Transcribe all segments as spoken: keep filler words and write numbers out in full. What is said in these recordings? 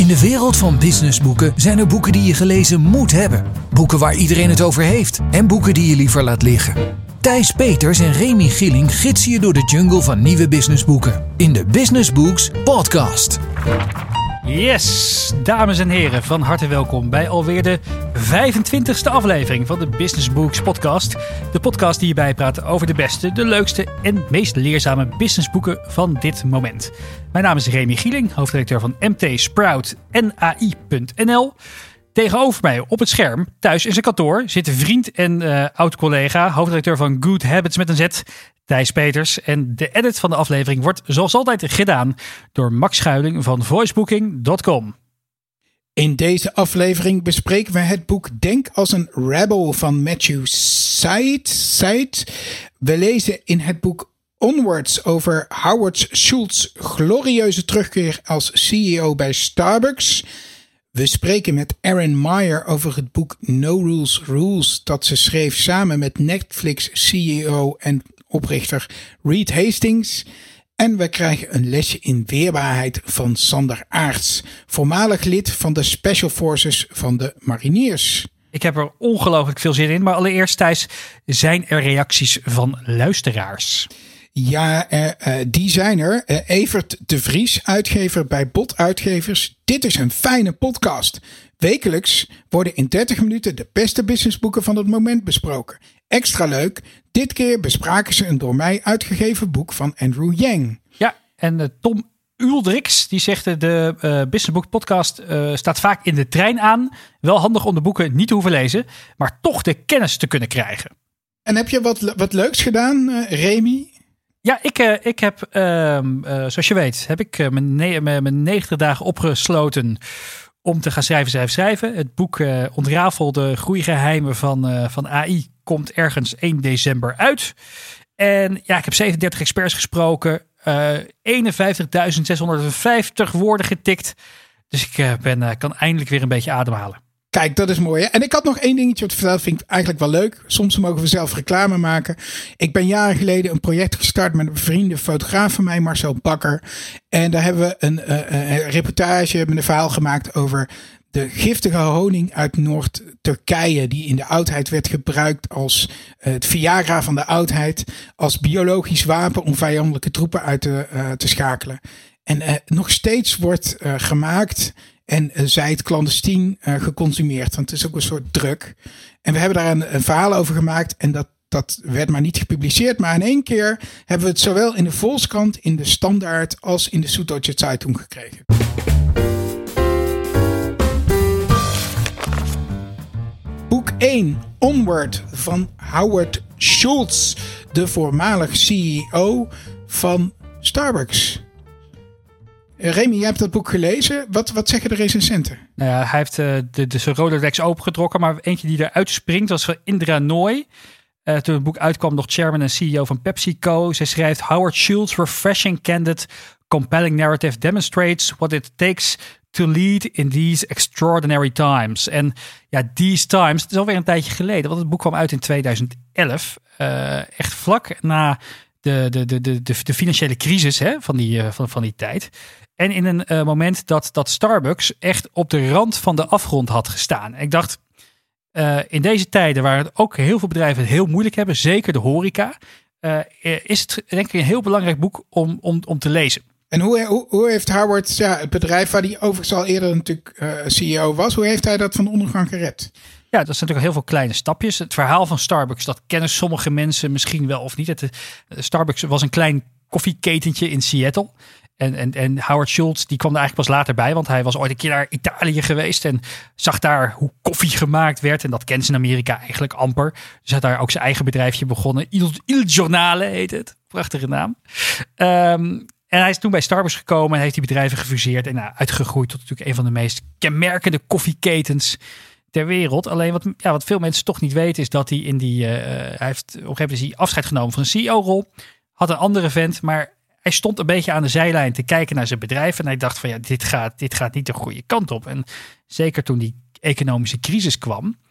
In de wereld van businessboeken zijn er boeken die je gelezen moet hebben. Boeken waar iedereen het over heeft. En boeken die je liever laat liggen. Thijs Peters en Remy Gieling gidsen je door de jungle van nieuwe businessboeken. In de Business Books Podcast. Yes, dames en heren, van harte welkom bij alweer de vijfentwintigste aflevering van de Business Books Podcast. De podcast die je bijpraat over de beste, de leukste en meest leerzame businessboeken van dit moment. Mijn naam is Remy Gieling, hoofdredacteur van M T Sprout en A I punt N L. Tegenover mij op het scherm, thuis in zijn kantoor, zit vriend en uh, oud-collega, hoofdredacteur van Good Habits met een Z, Thijs Peters. En de edit van de aflevering wordt zoals altijd gedaan door Max Schuiling van voicebooking punt com. In deze aflevering bespreken we het boek Denk als een Rebel van Matthew Syed. Syed. We lezen in het boek Onwards over Howard Schultz glorieuze terugkeer als C E O bij Starbucks. We spreken met Erin Meyer over het boek No Rules Rules dat ze schreef samen met Netflix C E O en oprichter Reed Hastings. En we krijgen een lesje in weerbaarheid van Sander Aarts, voormalig lid van de Special Forces van de Mariniers. Ik heb er ongelooflijk veel zin in, maar allereerst Thijs, zijn er reacties van luisteraars? Ja, uh, uh, die zijn er. Uh, Evert de Vries, uitgever bij Bot Uitgevers. Dit is een fijne podcast. Wekelijks worden in dertig minuten de beste businessboeken van het moment besproken. Extra leuk, dit keer bespraken ze een door mij uitgegeven boek van Andrew Yang. Ja, en uh, Tom Uldrix, die zegt uh, de uh, Businessbook podcast uh, staat vaak in de trein aan. Wel handig om de boeken niet te hoeven lezen, maar toch de kennis te kunnen krijgen. En heb je wat, wat leuks gedaan, uh, Remy? Ja, ik, uh, ik heb, uh, uh, zoals je weet, heb ik uh, mijn, ne- mijn negentig dagen opgesloten om te gaan schrijven, schrijven, schrijven. Het boek uh, Ontrafel de groeigeheimen van, uh, van A I komt ergens één december uit. En ja, ik heb zevenendertig experts gesproken, uh, eenenvijftigduizend zeshonderdvijftig woorden getikt. Dus ik uh, ben, uh, kan eindelijk weer een beetje ademhalen. Kijk, dat is mooi. Hè? En ik had nog één dingetje te vertellen. Vind ik eigenlijk wel leuk. Soms mogen we zelf reclame maken. Ik ben jaren geleden een project gestart met een bevriende fotograaf van mij, Marcel Bakker. En daar hebben we een, uh, een reportage met een verhaal gemaakt over de giftige honing uit Noord-Turkije, die in de oudheid werd gebruikt als uh, het Viagra van de oudheid, als biologisch wapen om vijandelijke troepen uit te, uh, te schakelen. En uh, nog steeds wordt uh, gemaakt en uh, zij het clandestien uh, geconsumeerd. Want het is ook een soort drug. En we hebben daar een, een verhaal over gemaakt. En dat, dat werd maar niet gepubliceerd. Maar in één keer hebben we het zowel in de Volkskrant, in de Standaard als in de Süddeutsche Zeitung gekregen. Boek één, Onward van Howard Schultz, de voormalig C E O van Starbucks. Remy, jij hebt dat boek gelezen. Wat, wat zeggen de recensenten? Nou ja, hij heeft uh, de, de zijn Rolodex opengetrokken, maar eentje die eruit springt was van Indra Nooy. Uh, toen het boek uitkwam, nog chairman en C E O van PepsiCo. Zij schrijft: Howard Schultz, refreshing, candid, compelling narrative demonstrates what it takes to lead in these extraordinary times. En ja, these times, het is alweer een tijdje geleden, want het boek kwam uit in tweeduizend elf. Uh, echt vlak na de, de, de, de, de financiële crisis hè, van, die, uh, van, van die tijd. En in een uh, moment dat, dat Starbucks echt op de rand van de afgrond had gestaan. En ik dacht, uh, in deze tijden waar het ook heel veel bedrijven het heel moeilijk hebben, zeker de horeca, uh, is het denk ik een heel belangrijk boek om, om, om te lezen. En hoe, hoe, hoe heeft Howard, ja, het bedrijf waar hij overigens al eerder natuurlijk uh, C E O was, hoe heeft hij dat van de ondergang gered? Ja, dat zijn natuurlijk heel veel kleine stapjes. Het verhaal van Starbucks, dat kennen sommige mensen misschien wel of niet. Het, uh, Starbucks was een klein koffieketentje in Seattle. En, en, en Howard Schultz, die kwam er eigenlijk pas later bij, want hij was ooit een keer naar Italië geweest en zag daar hoe koffie gemaakt werd. En dat kent ze in Amerika eigenlijk amper. Dus hij had daar ook zijn eigen bedrijfje begonnen. Il, Il Giornale heet het. Prachtige naam. Um, En hij is toen bij Starbucks gekomen en heeft die bedrijven gefuseerd en nou, uitgegroeid tot natuurlijk een van de meest kenmerkende koffieketens ter wereld. Alleen wat, ja, wat veel mensen toch niet weten is dat hij in die, uh, hij heeft op een gegeven moment is hij afscheid genomen van een C E O-rol, had een andere vent, maar hij stond een beetje aan de zijlijn te kijken naar zijn bedrijf en hij dacht van ja, dit gaat, dit gaat niet de goede kant op. En zeker toen die economische crisis kwam,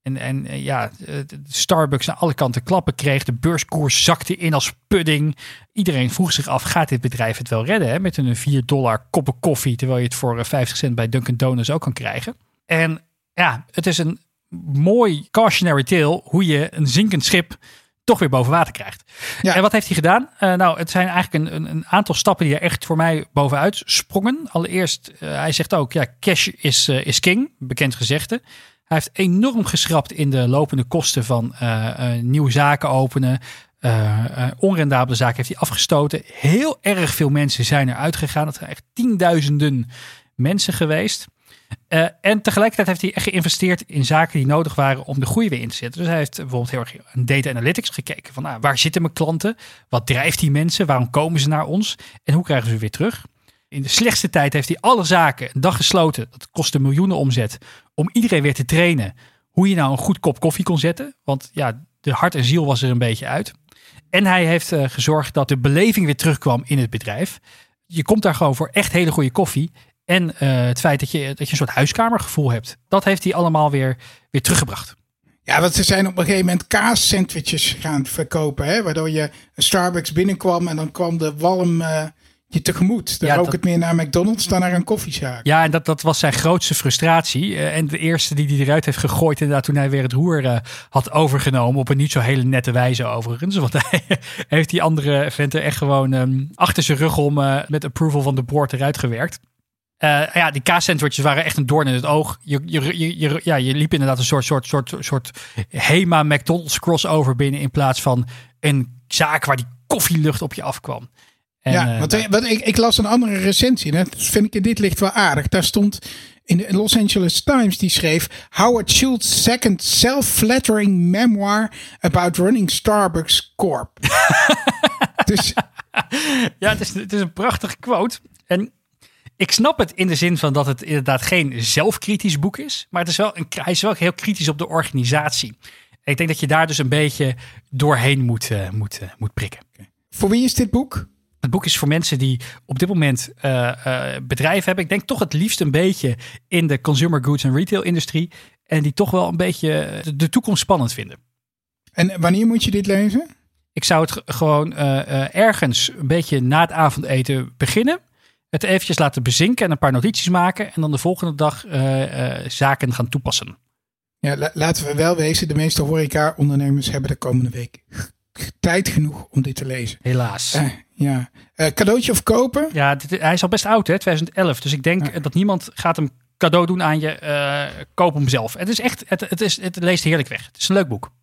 En, en ja, Starbucks aan alle kanten klappen kreeg. De beurskoers zakte in als pudding. Iedereen vroeg zich af, gaat dit bedrijf het wel redden? Hè? Met een vier dollar koppen koffie, terwijl je het voor vijftig cent bij Dunkin' Donuts ook kan krijgen. En ja, het is een mooi cautionary tale hoe je een zinkend schip toch weer boven water krijgt. Ja. En wat heeft hij gedaan? Uh, nou, het zijn eigenlijk een, een, een aantal stappen die er echt voor mij bovenuit sprongen. Allereerst, uh, hij zegt ook, ja, cash is, uh, is king, bekend gezegde. Hij heeft enorm geschrapt in de lopende kosten van uh, uh, nieuwe zaken openen. Uh, uh, onrendabele zaken heeft hij afgestoten. Heel erg veel mensen zijn eruit gegaan. Het zijn echt tienduizenden mensen geweest. Uh, en tegelijkertijd heeft hij echt geïnvesteerd in zaken die nodig waren om de groei weer in te zetten. Dus hij heeft bijvoorbeeld heel erg aan data analytics gekeken. Van, nou, waar zitten mijn klanten? Wat drijft die mensen? Waarom komen ze naar ons? En hoe krijgen ze weer terug? In de slechtste tijd heeft hij alle zaken een dag gesloten. Dat kostte miljoenen omzet. Om iedereen weer te trainen hoe je nou een goed kop koffie kon zetten. Want ja, de hart en ziel was er een beetje uit. En hij heeft uh, gezorgd dat de beleving weer terugkwam in het bedrijf. Je komt daar gewoon voor echt hele goede koffie. En uh, het feit dat je, dat je een soort huiskamergevoel hebt. Dat heeft hij allemaal weer, weer teruggebracht. Ja, want ze zijn op een gegeven moment kaassandwiches gaan verkopen. Hè? Waardoor je een Starbucks binnenkwam en dan kwam de walm uh, je tegemoet. Dan ja, rook dat, het meer naar McDonald's dan naar een koffiezaak. Ja, en dat, dat was zijn grootste frustratie. Uh, en de eerste die hij eruit heeft gegooid, inderdaad, toen hij weer het roer uh, had overgenomen. Op een niet zo hele nette wijze overigens. Want hij heeft die andere venten echt gewoon um, achter zijn rug om uh, met approval van de board eruit gewerkt. Uh, ja, die kaassandwiches waren echt een doorn in het oog. Je, je, je, je, ja, je liep inderdaad een soort, soort, soort, soort Hema McDonald's crossover binnen in plaats van een zaak waar die koffielucht op je afkwam. En, ja, uh, want, nou, want ik, ik las een andere recensie. Dat vind ik in dit licht wel aardig. Daar stond in de Los Angeles Times, die schreef Howard Schultz's second self-flattering memoir about running Starbucks Corp. Dus ja, het is, het is een prachtige quote. En ik snap het in de zin van dat het inderdaad geen zelfkritisch boek is. Maar het is wel een, hij is wel heel kritisch op de organisatie. En ik denk dat je daar dus een beetje doorheen moet, uh, moet, uh, moet prikken. Voor wie is dit boek? Het boek is voor mensen die op dit moment uh, uh, bedrijven hebben. Ik denk toch het liefst een beetje in de consumer goods en retail industrie. En die toch wel een beetje de, de toekomst spannend vinden. En wanneer moet je dit lezen? Ik zou het gewoon uh, uh, ergens een beetje na het avondeten beginnen. Het eventjes laten bezinken en een paar notities maken. En dan de volgende dag uh, uh, zaken gaan toepassen. Ja, la- laten we wel wezen. De meeste horeca-ondernemers hebben de komende week tijd genoeg om dit te lezen. Helaas. Uh, ja. Uh, cadeautje of kopen? Ja, dit, hij is al best oud, hè, twintig elf. Dus ik denk ja. dat niemand gaat hem cadeau doen aan je. Uh, koop hem zelf. Het is echt, het, het, is, het leest heerlijk weg. Het is een leuk boek.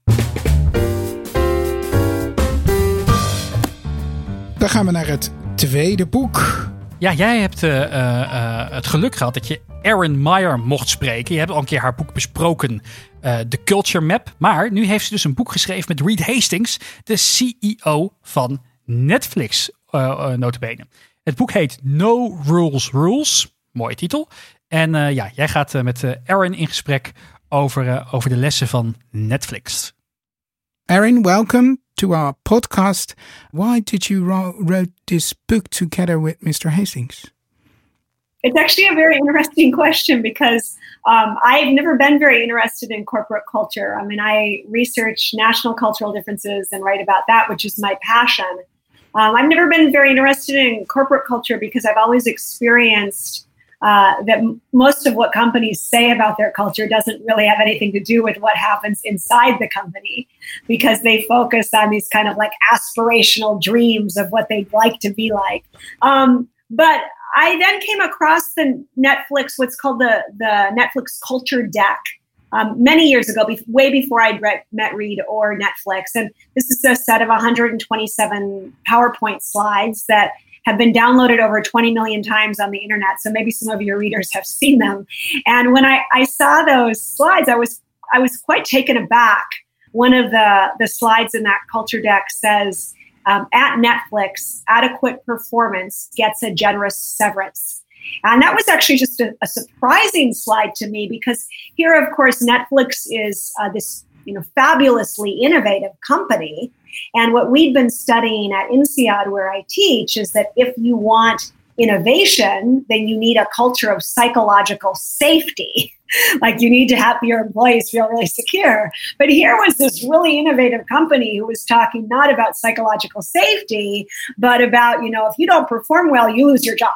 Dan gaan we naar het tweede boek. Ja, jij hebt uh, uh, het geluk gehad dat je Erin Meyer mocht spreken. Je hebt al een keer haar boek besproken, uh, The Culture Map. Maar nu heeft ze dus een boek geschreven met Reed Hastings, de C E O van Netflix, uh, uh, nota bene. Het boek heet No Rules Rules. Mooie titel. En uh, ja, jij gaat uh, met uh, Erin in gesprek over, uh, over de lessen van Netflix. Erin, welcome to our podcast. Why did you ro- wrote this book together with Mister Hastings? It's actually a very interesting question because um, I've never been very interested in corporate culture. I mean, I research national cultural differences and write about that, which is my passion. Um, I've never been very interested in corporate culture because I've always experienced uh, that m- most of what companies say about their culture doesn't really have anything to do with what happens inside the company, because they focus on these kind of like aspirational dreams of what they'd like to be like. Um, but I then came across the Netflix, what's called the, the Netflix Culture Deck, um, many years ago, be- way before I'd re- met Reed or Netflix. And this is a set of one hundred twenty-seven PowerPoint slides that have been downloaded over twenty million times on the internet. So maybe some of your readers have seen them. And when I, I saw those slides, I was I was quite taken aback. One of the, the slides in that culture deck says, um, at Netflix, adequate performance gets a generous severance. And that was actually just a, a surprising slide to me, because here, of course, Netflix is uh, this you know, fabulously innovative company. And what we've been studying at INSEAD, where I teach, is that if you want innovation, then you need a culture of psychological safety. Like you need to have your employees feel really secure. But here was this really innovative company who was talking not about psychological safety, but about, you know, if you don't perform well, you lose your job.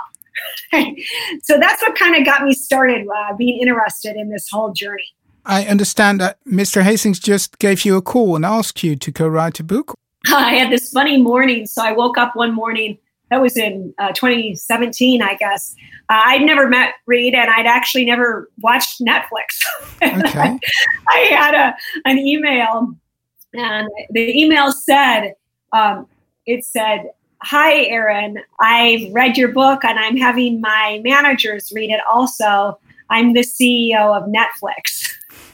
So that's what kind of got me started uh, being interested in this whole journey. I understand that Mister Hastings just gave you a call and asked you to co-write a book. I had this funny morning. So I woke up one morning, that was in uh, twenty seventeen, I guess. Uh, I'd never met Reed and I'd actually never watched Netflix. Okay. I, I had a an email and the email said, um, it said, "Hi, Erin, I've read your book and I'm having my managers read it also. I'm the C E O of Netflix."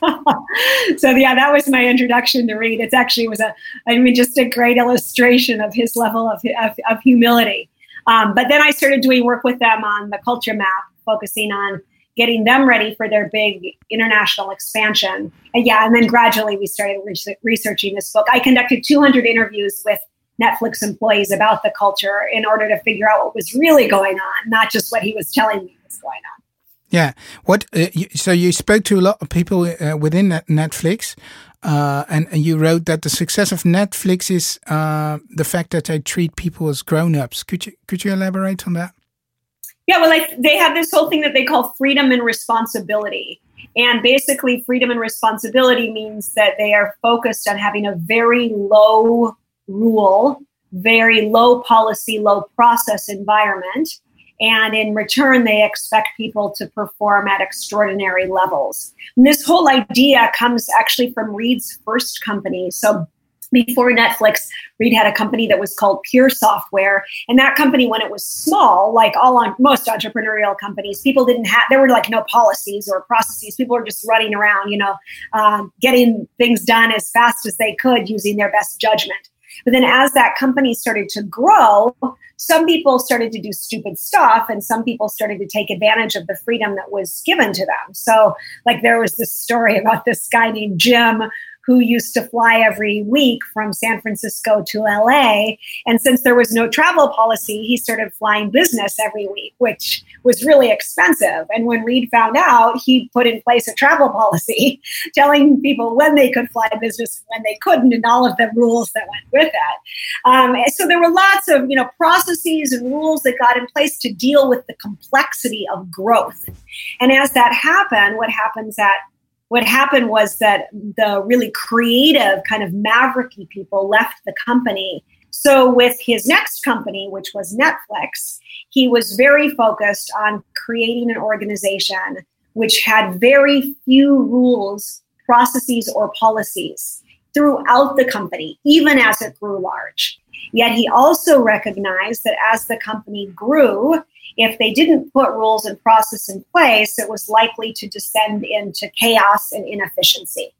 So yeah, that was my introduction to Reed. It's actually was a, I mean, just a great illustration of his level of of, of humility. Um, but then I started doing work with them on the culture map, focusing on getting them ready for their big international expansion. And yeah, and then gradually we started re- researching this book. I conducted two hundred interviews with Netflix employees about the culture in order to figure out what was really going on, not just what he was telling me was going on. Yeah. What? Uh, you, so you spoke to a lot of people uh, within Netflix, uh, and, and you wrote that the success of Netflix is uh, the fact that they treat people as grown-ups. Could you could you elaborate on that? Yeah. Well, like they have this whole thing that they call freedom and responsibility, and basically, freedom and responsibility means that they are focused on having a very low rule, very low policy, low process environment. And in return, they expect people to perform at extraordinary levels. And this whole idea comes actually from Reed's first company. So before Netflix, Reed had a company that was called Pure Software. And that company, when it was small, like all on most entrepreneurial companies, people didn't have, there were like no policies or processes. People were just running around, you know, um, getting things done as fast as they could using their best judgment. But then as that company started to grow, some people started to do stupid stuff and some people started to take advantage of the freedom that was given to them. So like there was this story about this guy named Jim who used to fly every week from San Francisco to L A. And since there was no travel policy, he started flying business every week, which was really expensive. And when Reed found out, he put in place a travel policy telling people when they could fly business and when they couldn't, and all of the rules that went with that. Um, so there were lots of, you know, processes and rules that got in place to deal with the complexity of growth. And as that happened, what happens at What happened was that the really creative kind of mavericky people left the company. So with his next company, which was Netflix, he was very focused on creating an organization which had very few rules, processes, or policies throughout the company, even as it grew large. Yet he also recognized that as the company grew, if they didn't put rules and process in place, it was likely to descend into chaos and inefficiency.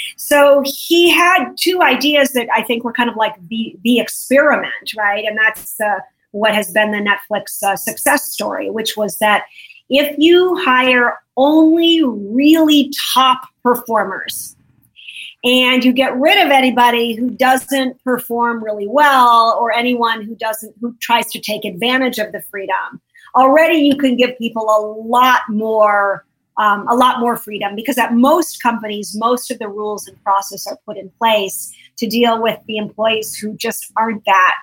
So he had two ideas that I think were kind of like the, the experiment, right? And that's uh, what has been the Netflix uh, success story, which was that if you hire only really top performers and you get rid of anybody who doesn't perform really well or anyone who doesn't, who tries to take advantage of the freedom, already you can give people a lot more, um, a lot more freedom, because at most companies, most of the rules and process are put in place to deal with the employees who just aren't that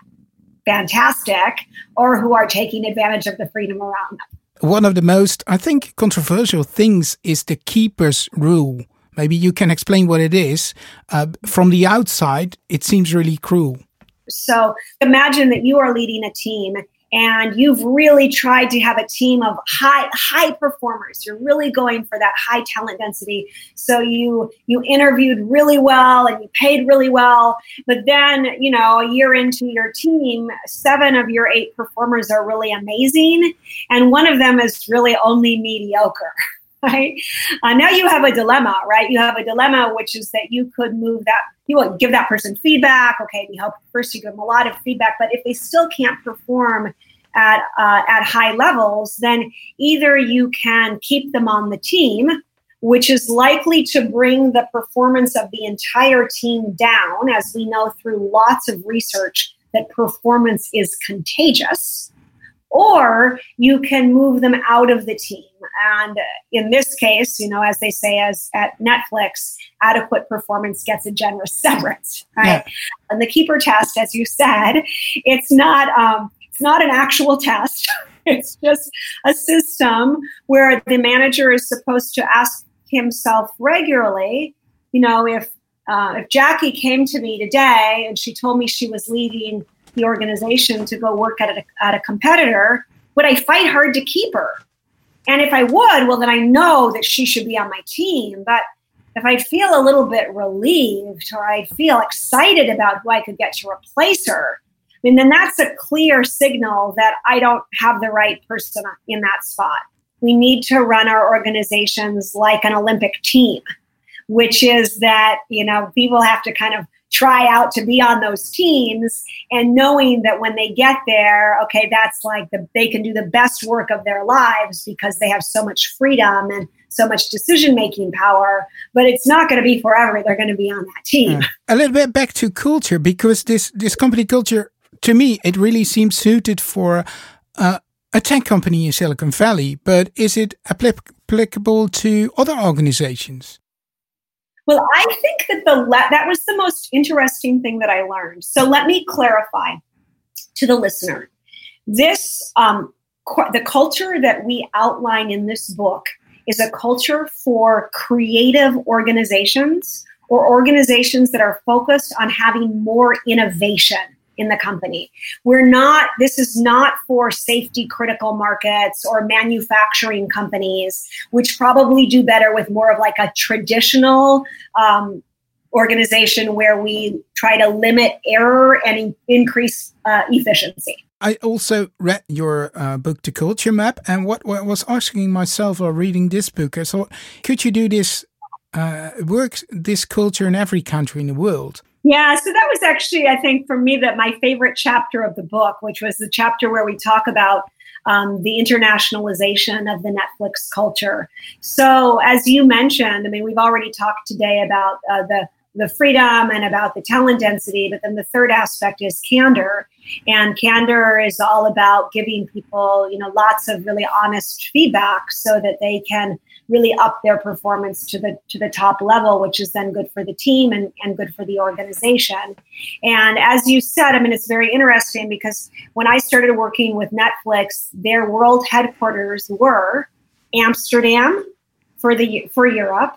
fantastic or who are taking advantage of the freedom around them. One of the most, I think, controversial things is the keeper's rule. Maybe you can explain what it is. Uh, from the outside, it seems really cruel. So imagine that you are leading a team and you've really tried to have a team of high high performers. You're really going for that high talent density. So you you interviewed really well and you paid really well. But then, you know, a year into your team, seven of your eight performers are really amazing. And one of them is really only mediocre. Right? Uh, now you have a dilemma, right? You have a dilemma, which is that you could move that, you will give that person feedback. Okay, you help first, you give them a lot of feedback, but if they still can't perform at uh, at high levels, then either you can keep them on the team, which is likely to bring the performance of the entire team down, as we know through lots of research that performance is contagious. or you can move them out of the team. And in this case, you know, as they say, as at Netflix, adequate performance gets a generous severance, right? Yeah. And the keeper test, as you said, it's not um, it's not an actual test. It's just a system where the manager is supposed to ask himself regularly, you know, if uh, if Jackie came to me today and she told me she was leaving the organization to go work at a, at a competitor, would I fight hard to keep her? And if I would, well, then I know that she should be on my team. But if I feel a little bit relieved or I feel excited about who I could get to replace her, I mean, then that's a clear signal that I don't have the right person in that spot. We need to run our organizations like an Olympic team, which is that, you know, people have to kind of try out to be on those teams, and knowing that when they get there, okay, that's like the, they can do the best work of their lives because they have so much freedom and so much decision-making power, but it's not going to be forever. They're going to be on that team. Uh, a little bit back to culture, because this, this company culture, to me, it really seems suited for uh, a tech company in Silicon Valley, but is it applic- applicable to other organizations? Well, I think that the that was the most interesting thing that I learned. So let me clarify to the listener. This, um, the culture that we outline in this book is a culture for creative organizations or organizations that are focused on having more innovation in the company. We're not, this is not for safety critical markets or manufacturing companies, which probably do better with more of like a traditional um, organization where we try to limit error and in- increase uh, efficiency. I also read your uh, book, The Culture Map, and what, what I was asking myself while reading this book, I thought, could you do this, uh, work this culture in every country in the world? Yeah, so that was actually, I think, for me, that my favorite chapter of the book, which was the chapter where we talk about um, the internationalization of the Netflix culture. So as you mentioned, I mean, we've already talked today about uh, the the freedom and about the talent density, but then the third aspect is candor. And candor is all about giving people, you know, lots of really honest feedback so that they can really up their performance to the to the top level, which is then good for the team and, and good for the organization. And as you said, I mean, it's very interesting because when I started working with Netflix, their world headquarters were Amsterdam for the for Europe,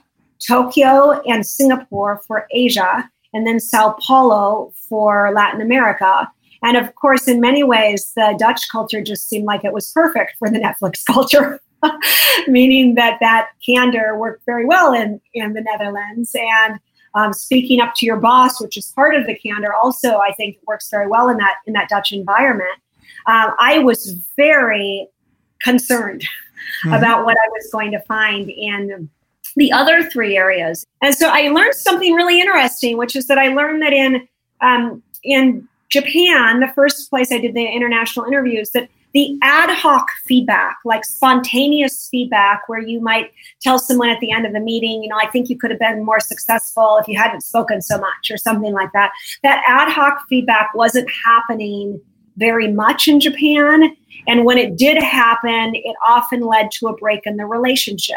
Tokyo and Singapore for Asia, and then Sao Paulo for Latin America. And of course, in many ways, the Dutch culture just seemed like it was perfect for the Netflix culture, meaning that that candor worked very well in, in the Netherlands. And um, speaking up to your boss, which is part of the candor, also, I think works very well in that, in that Dutch environment. Um, I was very concerned mm-hmm. about what I was going to find in the other three areas. And so I learned something really interesting, which is that I learned that in um, in Japan, the first place I did the international interviews, that the ad hoc feedback, like spontaneous feedback, where you might tell someone at the end of the meeting, you know, I think you could have been more successful if you hadn't spoken so much or something like that. That ad hoc feedback wasn't happening very much in Japan. And when it did happen, it often led to a break in the relationship.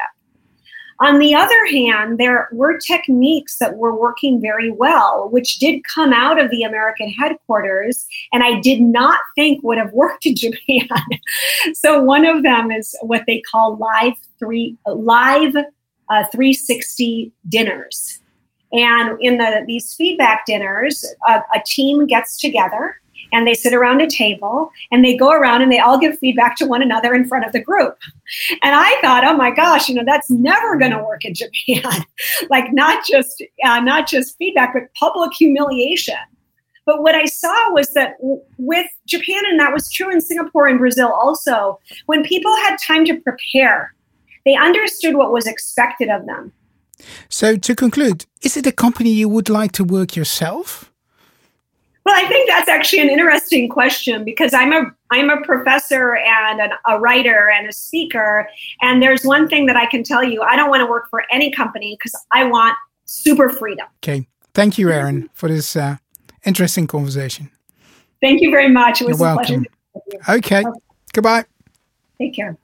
On the other hand, there were techniques that were working very well, which did come out of the American headquarters, and I did not think would have worked in Japan. So one of them is what they call live three live uh, three sixty dinners. And in the these feedback dinners, a, a team gets together and they sit around a table and they go around and they all give feedback to one another in front of the group. And I thought, oh my gosh, you know, that's never going to work in Japan. Like not just uh, not just feedback, but public humiliation. But what I saw was that w- with Japan, and that was true in Singapore and Brazil also, when people had time to prepare, they understood what was expected of them. So to conclude, is it a company you would like to work yourself? Well, I think that's actually an interesting question because I'm a I'm a professor and an, a writer and a speaker. And there's one thing that I can tell you. I don't want to work for any company because I want super freedom. Okay. Thank you, Erin, for this uh, interesting conversation. Thank you very much. It was You're a welcome. pleasure. Okay. Goodbye. Take care.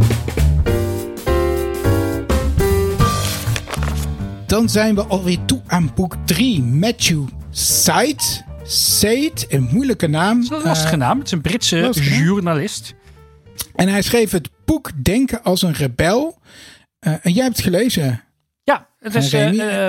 Dan zijn we alweer toe aan boek drie. Matthew Syed. Syed, een moeilijke naam. Het is een lastige uh, naam. Het is een Britse lastige. journalist. En hij schreef het boek Denken als een rebel. Uh, en jij hebt het gelezen. Ja, het is, uh, uh,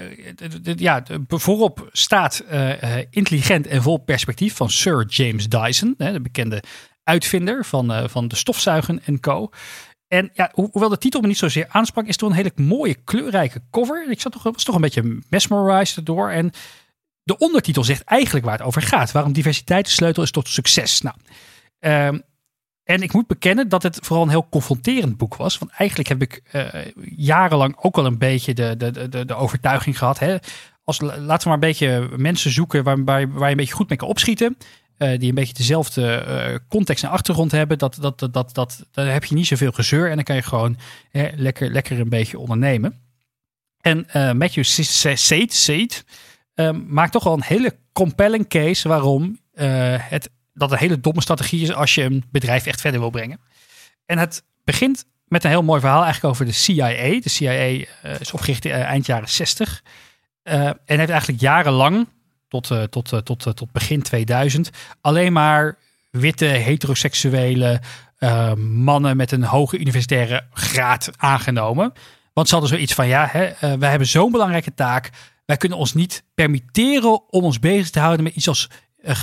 uh, ja, voorop staat uh, intelligent en vol perspectief van Sir James Dyson. Hè, de bekende uitvinder van, uh, van de stofzuigen en co. En ja, ho- hoewel de titel me niet zozeer aansprak, is het toch een hele mooie kleurrijke cover. Ik zat toch, was toch een beetje mesmerized erdoor. En de ondertitel zegt eigenlijk waar het over gaat. Waarom diversiteit de sleutel is tot succes. Nou, um, en ik moet bekennen dat het vooral een heel confronterend boek was. Want eigenlijk heb ik uh, jarenlang ook al een beetje de, de, de, de overtuiging gehad. Hè? Als, laten we maar een beetje mensen zoeken waar, waar, waar je een beetje goed mee kan opschieten. Uh, die een beetje dezelfde uh, context en achtergrond hebben. Dat, dat, dat, dat, dat, dan heb je niet zoveel gezeur. En dan kan je gewoon hè, lekker, lekker een beetje ondernemen. En uh, Matthew Syed, Syed uh, maakt toch wel een hele compelling case waarom uh, het... dat een hele domme strategie is als je een bedrijf echt verder wil brengen. En het begint met een heel mooi verhaal eigenlijk over de C I A. De C I A uh, is opgericht uh, eind jaren zestig. Uh, en heeft eigenlijk jarenlang, tot, uh, tot, uh, tot, uh, tot begin tweeduizend... alleen maar witte, heteroseksuele uh, mannen met een hoge universitaire graad aangenomen. Want ze hadden zoiets van, ja, hè, uh, wij hebben zo'n belangrijke taak. Wij kunnen ons niet permitteren om ons bezig te houden met iets als...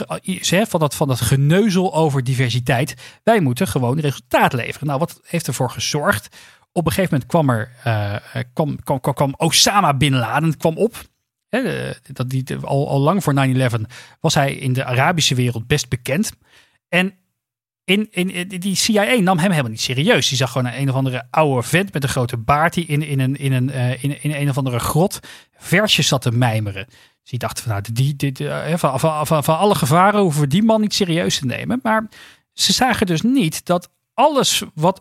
Uh, van, dat, van dat geneuzel over diversiteit. Wij moeten gewoon resultaat leveren. Nou, wat heeft ervoor gezorgd? Op een gegeven moment kwam er uh, kwam, kwam, kwam Osama Bin Laden kwam op. He, dat die, al, al lang voor nine eleven was hij in de Arabische wereld best bekend. En in, in, die C I A nam hem helemaal niet serieus. Die zag gewoon een, een of andere oude vent met een grote baard die in, in, een, in, een, uh, in, in een of andere grot versjes zat te mijmeren. Dus die dachten van, nou, die, die, die, van, van, van, van alle gevaren hoeven we die man niet serieus te nemen. Maar ze zagen dus niet dat alles wat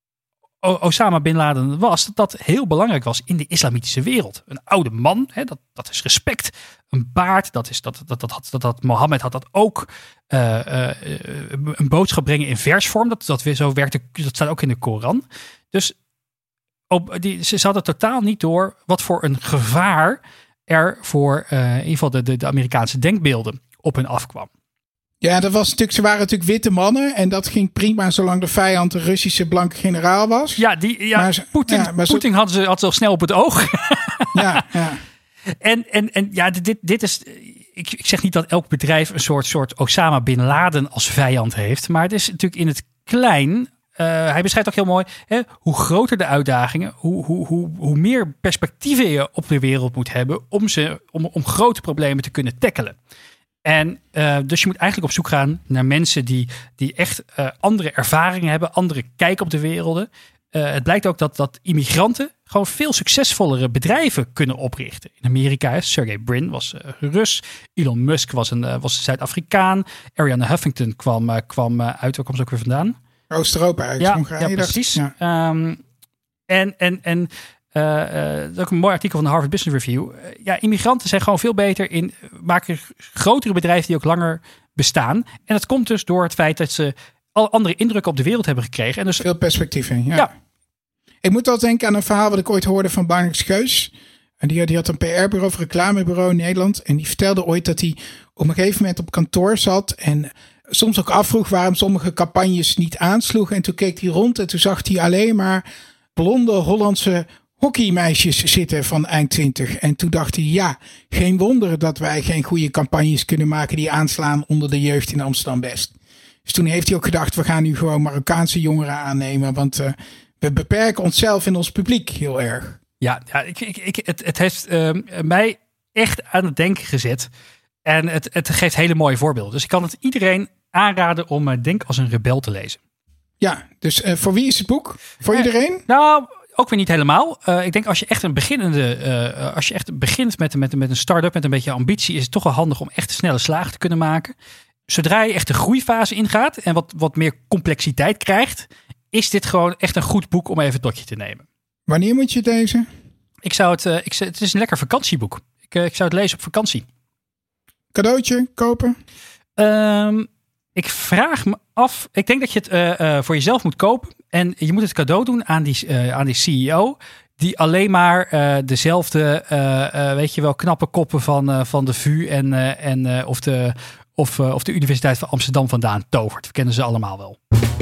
Osama Bin Laden was, dat dat heel belangrijk was in de islamitische wereld. Een oude man, hè, dat, dat is respect. Een baard, dat is dat, dat, dat, dat, dat, dat Mohammed had dat ook. Uh, uh, een boodschap brengen in versvorm, dat, dat weer zo werkte, dat staat ook in de Koran. Dus op, die, ze hadden totaal niet door wat voor een gevaar er voor uh, in ieder geval de, de, de Amerikaanse denkbeelden op hun afkwam. Ja, dat was natuurlijk, ze waren natuurlijk witte mannen. En dat ging prima zolang de vijand de Russische blanke generaal was. Ja, die, ja, maar, Poetin, ja, maar Poetin zo... hadden ze, had ze al snel op het oog. Ja, ja. En, en, en ja, dit, dit is... Ik, ik zeg niet dat elk bedrijf een soort, soort Osama Bin Laden als vijand heeft. Maar het is natuurlijk in het klein... Uh, hij beschrijft ook heel mooi, hè, hoe groter de uitdagingen, hoe, hoe, hoe, hoe meer perspectieven je op de wereld moet hebben om, ze, om, om grote problemen te kunnen tackelen. En uh, dus je moet eigenlijk op zoek gaan naar mensen die, die echt uh, andere ervaringen hebben, andere kijk op de werelden. Uh, het blijkt ook dat, dat immigranten gewoon veel succesvollere bedrijven kunnen oprichten. In Amerika, hè, Sergey Brin was uh, Rus, Elon Musk was een, uh, was een Zuid-Afrikaan, Arianna Huffington kwam, uh, kwam uh, uit, waar kwam ze ook weer vandaan? Oost-Europa eigenlijk. Ja, ja, precies. Ja. Um, en en, en uh, uh, dat is ook een mooi artikel van de Harvard Business Review. Uh, ja, immigranten zijn gewoon veel beter in maken grotere bedrijven die ook langer bestaan. En dat komt dus door het feit dat ze al andere indrukken op de wereld hebben gekregen. En dus veel perspectieven, ja. ja. Ik moet wel denken aan een verhaal wat ik ooit hoorde van Barnix Geus. En die, die had een P R-bureau of reclamebureau in Nederland. En die vertelde ooit dat hij op een gegeven moment op kantoor zat en soms ook afvroeg waarom sommige campagnes niet aansloegen. En toen keek hij rond en toen zag hij alleen maar blonde Hollandse hockeymeisjes zitten van eind twintig. En toen dacht hij, ja, geen wonder dat wij geen goede campagnes kunnen maken die aanslaan onder de jeugd in Amsterdam-West. Dus toen heeft hij ook gedacht, we gaan nu gewoon Marokkaanse jongeren aannemen. Want uh, we beperken onszelf en ons publiek heel erg. Ja, ja ik, ik, ik, het, het heeft uh, mij echt aan het denken gezet. En het, het geeft hele mooie voorbeelden. Dus ik kan het iedereen aanraden om uh, Denk als een rebel te lezen. Ja, dus uh, voor wie is het boek? Voor uh, iedereen? Nou, ook weer niet helemaal. Uh, ik denk als je echt een beginnende, uh, als je echt begint met, met, met een start-up, met een beetje ambitie, is het toch wel handig om echt snelle slagen te kunnen maken. Zodra je echt de groeifase ingaat en wat, wat meer complexiteit krijgt, is dit gewoon echt een goed boek om even tot je te nemen. Wanneer moet je het lezen? Ik zou het, uh, ik, het is een lekker vakantieboek. Ik, uh, ik zou het lezen op vakantie. Cadeautje kopen? Um, Ik vraag me af. Ik denk dat je het uh, uh, voor jezelf moet kopen. En je moet het cadeau doen aan die, uh, aan die C E O. Die alleen maar uh, dezelfde, uh, uh, weet je wel, knappe koppen van, uh, van de V U en, uh, en uh, of, de, of, uh, of de Universiteit van Amsterdam vandaan tovert. We kennen ze allemaal wel.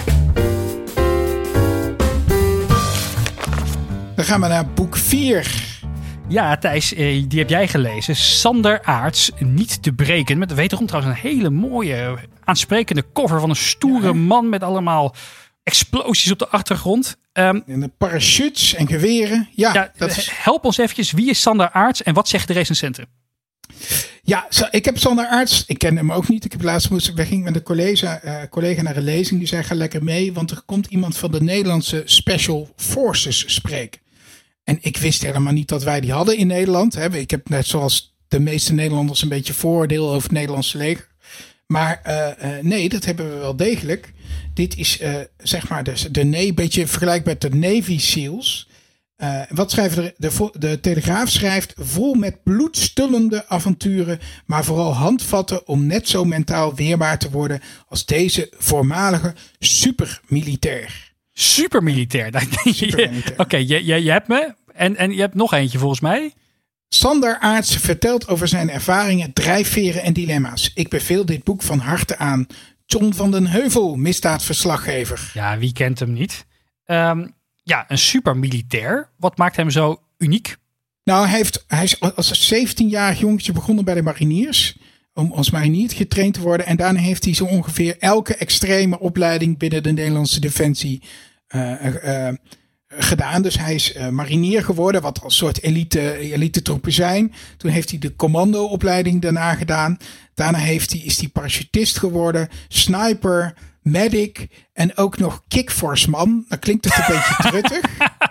Dan gaan we naar boek vier. Ja, Thijs, die heb jij gelezen. Sander Aarts, Niet te breken. Met wederom trouwens een hele mooie, aansprekende cover van een stoere ja. man met allemaal explosies op de achtergrond. Um, en de parachutes en geweren. Ja, ja, dat is... Help ons eventjes. Wie is Sander Aarts en wat zeggen de recensenten? Ja, ik heb Sander Aarts. Ik ken hem ook niet. Ik heb laatst moest, we gingen met een collega, uh, collega naar een lezing. Die zei, ga lekker mee. Want er komt iemand van de Nederlandse Special Forces spreken. En ik wist helemaal niet dat wij die hadden in Nederland. Ik heb net zoals de meeste Nederlanders een beetje vooroordeel over het Nederlandse leger. Maar uh, uh, nee, dat hebben we wel degelijk. Dit is uh, zeg maar de, de een beetje vergelijkbaar met de Navy SEALs. Uh, wat schrijven de, de, de Telegraaf schrijft vol met bloedstullende avonturen, maar vooral handvatten om net zo mentaal weerbaar te worden als deze voormalige supermilitair. Supermilitair. Supermilitair. Oké, okay, je, je, je hebt me. En, en je hebt nog eentje volgens mij. Sander Aarts vertelt over zijn ervaringen, drijfveren en dilemma's. Ik beveel dit boek van harte aan. John van den Heuvel, misdaadverslaggever. Ja, wie kent hem niet? Um, ja, een supermilitair. Wat maakt hem zo uniek? Nou, hij, heeft, hij is als zeventienjarig jongetje begonnen bij de mariniers. Om als marinier getraind te worden. En daarna heeft hij zo ongeveer elke extreme opleiding binnen de Nederlandse Defensie uh, uh, gedaan. Dus hij is uh, marinier geworden, wat als soort elite, elite troepen zijn. Toen heeft hij de commandoopleiding daarna gedaan. Daarna heeft hij, is hij parachutist geworden, sniper, medic en ook nog kickforceman. Dat klinkt het een beetje truttig.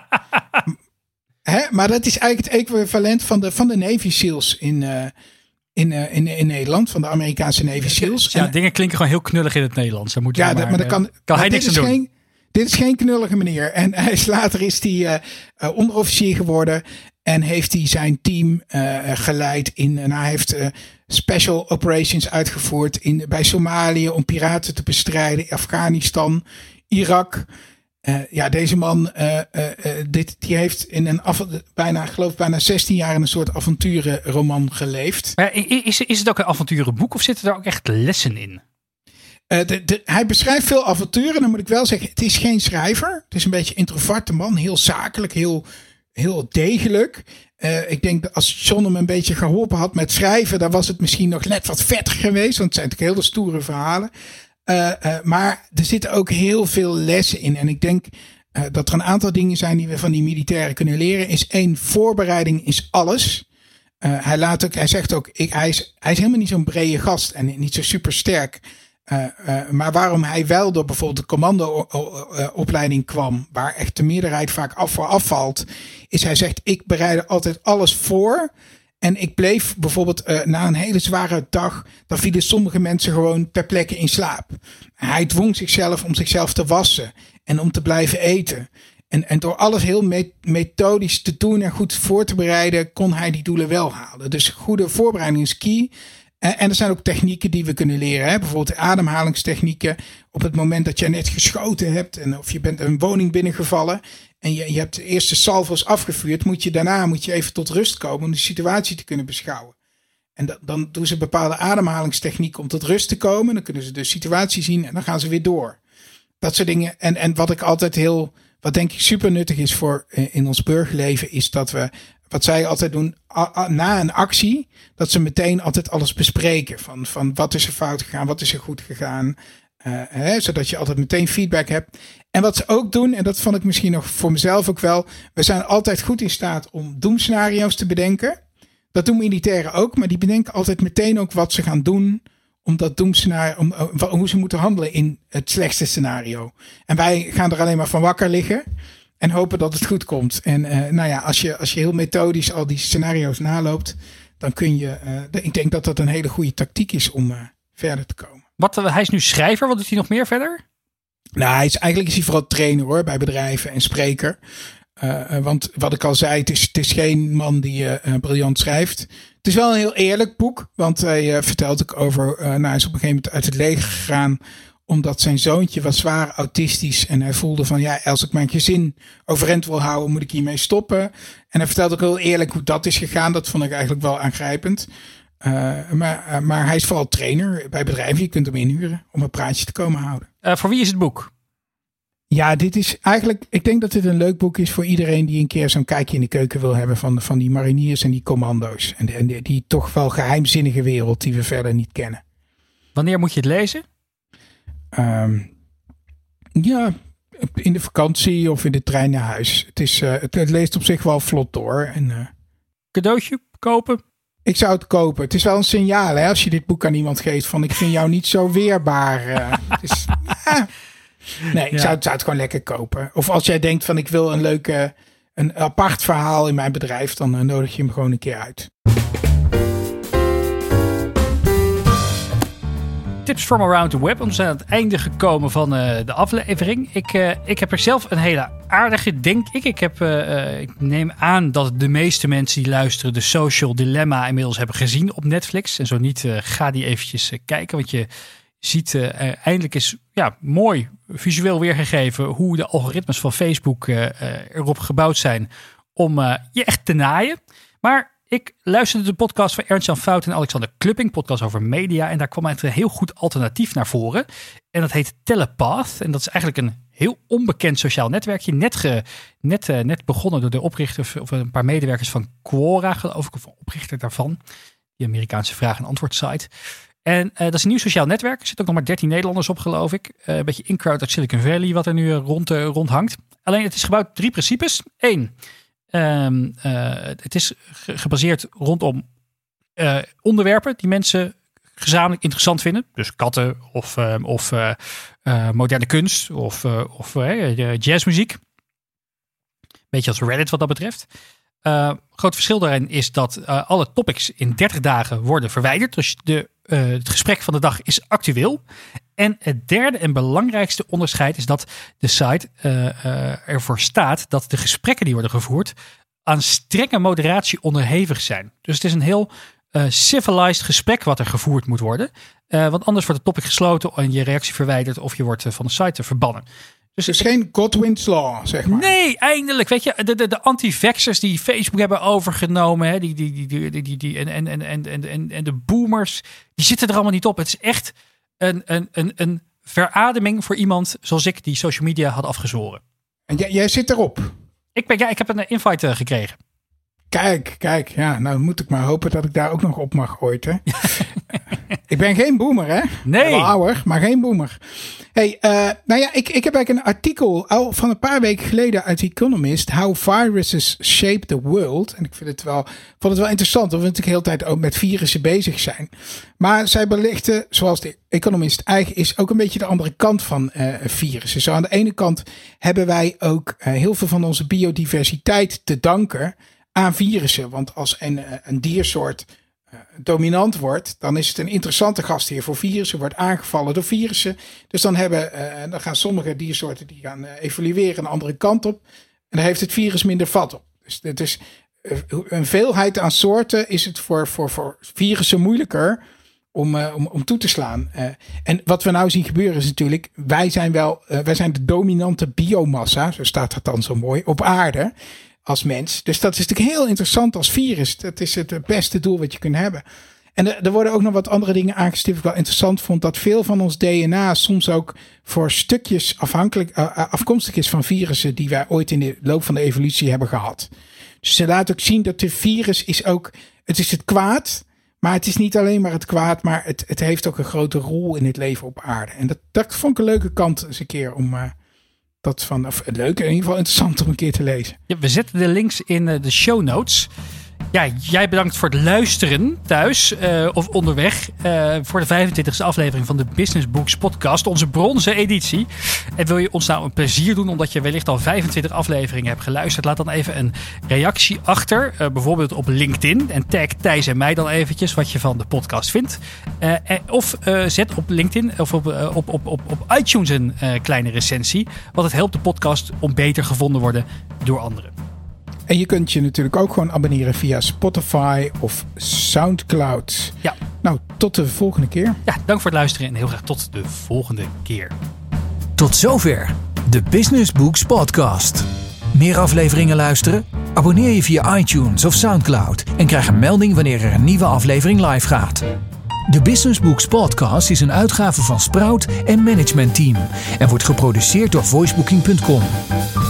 Hè? Maar dat is eigenlijk het equivalent van de, van de Navy SEALs in... Uh, In, uh, in, in Nederland, van de Amerikaanse Navy SEALs. Ja, en, dingen klinken gewoon heel knullig in het Nederlands. Daar moet ja, maar, dat, maar daar kan, kan hij niks aan doen. Geen, dit is geen knullige meneer. En hij is, later is hij uh, uh, onderofficier geworden. En heeft hij zijn team uh, geleid. In, en hij heeft uh, special operations uitgevoerd in, bij Somalië om piraten te bestrijden. Afghanistan, Irak. Uh, ja, deze man, uh, uh, uh, dit, die heeft in een af, bijna, geloof bijna zestien jaar in een soort avonturenroman geleefd. Maar is, is het ook een avonturenboek of zitten er ook echt lessen in? Uh, de, de, hij beschrijft veel avonturen, dan moet ik wel zeggen, het is geen schrijver. Het is een beetje een introverte man, heel zakelijk, heel, heel degelijk. Uh, ik denk dat als John hem een beetje geholpen had met schrijven, dan was het misschien nog net wat vetter geweest, want het zijn natuurlijk hele stoere verhalen. Uh, uh, maar er zitten ook heel veel lessen in. En ik denk uh, dat er een aantal dingen zijn die we van die militairen kunnen leren. Is één, voorbereiding is alles. Uh, hij, laat ook, hij zegt ook, ik, hij, is, hij is helemaal niet zo'n brede gast en niet zo super sterk. Uh, uh, maar waarom hij wel door bijvoorbeeld de commando-opleiding kwam, waar echt de meerderheid vaak af voor afvalt, is hij zegt, ik bereidde altijd alles voor. En ik bleef bijvoorbeeld uh, na een hele zware dag, dan vielen sommige mensen gewoon ter plekke in slaap. Hij dwong zichzelf om zichzelf te wassen en om te blijven eten. En, en door alles heel me- methodisch te doen en goed voor te bereiden, kon hij die doelen wel halen. Dus goede voorbereiding is key. En, en er zijn ook technieken die we kunnen leren. Hè? Bijvoorbeeld ademhalingstechnieken. Op het moment dat je net geschoten hebt en of je bent een woning binnengevallen en je, je hebt de eerste salvo's afgevuurd, moet je daarna moet je even tot rust komen om de situatie te kunnen beschouwen. En da, dan doen ze bepaalde ademhalingstechnieken om tot rust te komen. Dan kunnen ze de situatie zien en dan gaan ze weer door. Dat soort dingen. En, en wat ik altijd heel, wat denk ik super nuttig is voor in ons burgerleven, is dat we, wat zij altijd doen, a, a, na een actie, dat ze meteen altijd alles bespreken. Van, van wat is er fout gegaan, wat is er goed gegaan. Uh, hè, zodat je altijd meteen feedback hebt. En wat ze ook doen, en dat vond ik misschien nog voor mezelf ook wel, we zijn altijd goed in staat om doemscenario's te bedenken. Dat doen militairen ook, maar die bedenken altijd meteen ook wat ze gaan doen om dat doemscenario, om, uh, hoe ze moeten handelen in het slechtste scenario. En wij gaan er alleen maar van wakker liggen en hopen dat het goed komt. En uh, nou ja, als je, als je heel methodisch al die scenario's naloopt, dan kun je, uh, ik denk dat dat een hele goede tactiek is om uh, verder te komen. Wat, hij is nu schrijver. Wat doet hij nog meer verder? Nou, hij is, eigenlijk is hij vooral trainer hoor, bij bedrijven en spreker. Uh, want wat ik al zei, het is, het is geen man die uh, briljant schrijft. Het is wel een heel eerlijk boek. Want hij uh, vertelt ook over, uh, nou, hij is op een gegeven moment uit het leger gegaan. Omdat zijn zoontje was zwaar autistisch. En hij voelde van, ja, als ik mijn gezin overeind wil houden, moet ik hiermee stoppen. En hij vertelt ook heel eerlijk hoe dat is gegaan. Dat vond ik eigenlijk wel aangrijpend. Uh, maar, uh, maar hij is vooral trainer bij bedrijven. Je kunt hem inhuren om een praatje te komen houden. Uh, voor wie is het boek? Ja, dit is eigenlijk, ik denk dat dit een leuk boek is voor iedereen die een keer zo'n kijkje in de keuken wil hebben van, van die mariniers en die commando's. En, en die, die toch wel geheimzinnige wereld die we verder niet kennen. Wanneer moet je het lezen? Um, ja, in de vakantie of in de trein naar huis. Het, is, uh, het, het leest op zich wel vlot door. En, uh, cadeautje kopen? Ik zou het kopen. Het is wel een signaal hè, als je dit boek aan iemand geeft van ik vind jou niet zo weerbaar. Uh, het is, uh, nee, ik ja. zou, het, zou het gewoon lekker kopen. Of als jij denkt van ik wil een leuke, een apart verhaal in mijn bedrijf, dan uh, nodig je hem gewoon een keer uit. Tips from around the web. We zijn aan het einde gekomen van uh, de aflevering. Ik, uh, ik heb er zelf een hele aardige, denk ik. Ik, heb, uh, ik neem aan dat de meeste mensen die luisteren de Social Dilemma inmiddels hebben gezien op Netflix. En zo niet, uh, ga die eventjes uh, kijken. Want je ziet uh, uh, eindelijk is ja, mooi visueel weergegeven hoe de algoritmes van Facebook uh, uh, erop gebouwd zijn om uh, je echt te naaien. Maar ik luisterde de podcast van Ernst-Jan Fout en Alexander Klupping, podcast over media. En daar kwam een heel goed alternatief naar voren. En dat heet Telepath. En dat is eigenlijk een heel onbekend sociaal netwerkje. Net, ge, net, uh, net begonnen door de oprichter of een paar medewerkers van Quora, geloof ik, of een oprichter daarvan. Die Amerikaanse vraag- en antwoord site. En uh, dat is een nieuw sociaal netwerk. Er zitten ook nog maar dertien Nederlanders op, geloof ik. Uh, een beetje in-crowd uit Silicon Valley, wat er nu uh, rond, uh, rond hangt. Alleen het is gebouwd op drie principes. Eén. Um, uh, het is ge- gebaseerd rondom uh, onderwerpen die mensen gezamenlijk interessant vinden. Dus katten of, uh, of uh, uh, moderne kunst of, uh, of uh, jazzmuziek. Beetje als Reddit wat dat betreft. Uh, groot verschil daarin is dat uh, alle topics in dertig dagen worden verwijderd. Dus de, uh, het gesprek van de dag is actueel. En het derde en belangrijkste onderscheid is dat de site uh, uh, ervoor staat dat de gesprekken die worden gevoerd aan strenge moderatie onderhevig zijn. Dus het is een heel uh, civilized gesprek wat er gevoerd moet worden. Uh, want anders wordt het topic gesloten en je reactie verwijderd of je wordt uh, van de site verbannen. Dus het is geen Godwin's Law, zeg maar. Nee, eindelijk. Weet je, de, de, de anti-vaxxers die Facebook hebben overgenomen. Hè, die, die, die, die, die, die, en, en, en, en, en, en de boomers. Die zitten er allemaal niet op. Het is echt een, een, een, een verademing voor iemand zoals ik die social media had afgezworen. En jij, jij zit erop? Ik, ben, ja, ik heb een invite uh, gekregen. Kijk, kijk. Ja, nou moet ik maar hopen dat ik daar ook nog op mag ooit. Hè? Ik ben geen boomer, hè? Nee. Wel ouder, maar geen boomer. Hey, uh, nou ja, ik, ik heb eigenlijk een artikel al van een paar weken geleden uit Economist. How Viruses Shape the World. En ik vind het wel, vond het wel interessant. Want we natuurlijk de hele tijd ook met virussen bezig zijn. Maar zij belichten, zoals de Economist eigen is, ook een beetje de andere kant van uh, virussen. Zo aan de ene kant hebben wij ook uh, heel veel van onze biodiversiteit te danken aan virussen. Want als een, een diersoort uh, dominant wordt, dan is het een interessante gastheer voor virussen, wordt aangevallen door virussen. Dus dan, hebben, uh, dan gaan sommige diersoorten die gaan uh, evolueren een andere kant op. En dan heeft het virus minder vat op. Dus het is uh, een veelheid aan soorten is het voor, voor, voor virussen moeilijker om, uh, om, om toe te slaan. Uh, en wat we nou zien gebeuren is natuurlijk, wij zijn wel, uh, wij zijn de dominante biomassa, zo staat dat dan zo mooi, op aarde. Als mens. Dus dat is natuurlijk heel interessant als virus. Dat is het beste doel wat je kunt hebben. En er, er worden ook nog wat andere dingen aangestipt. Wat ik wel interessant vond. Dat veel van ons D N A soms ook voor stukjes afhankelijk, uh, afkomstig is van virussen die wij ooit in de loop van de evolutie hebben gehad. Dus ze laten ook zien dat de virus is ook, het is het kwaad. Maar het is niet alleen maar het kwaad. Maar het, het heeft ook een grote rol in het leven op aarde. En dat, dat vond ik een leuke kant eens een keer om... Uh, Dat van, of leuk, in ieder geval interessant om een keer te lezen. Ja, we zetten de links in de show notes. Ja, jij bedankt voor het luisteren thuis uh, of onderweg uh, voor de vijfentwintigste aflevering van de Business Books podcast, onze bronzen editie. En wil je ons nou een plezier doen omdat je wellicht al vijfentwintig afleveringen hebt geluisterd? Laat dan even een reactie achter, uh, bijvoorbeeld op LinkedIn en tag Thijs en mij dan eventjes wat je van de podcast vindt. Uh, of uh, zet op LinkedIn of op, uh, op, op, op, op iTunes een uh, kleine recensie, want het helpt de podcast om beter gevonden worden door anderen. En je kunt je natuurlijk ook gewoon abonneren via Spotify of Soundcloud. Ja. Nou, tot de volgende keer. Ja, dank voor het luisteren en heel graag tot de volgende keer. Tot zover de Business Books podcast. Meer afleveringen luisteren? Abonneer je via iTunes of Soundcloud en krijg een melding wanneer er een nieuwe aflevering live gaat. De Business Books podcast is een uitgave van Sprout en Management Team en wordt geproduceerd door voicebooking punt com.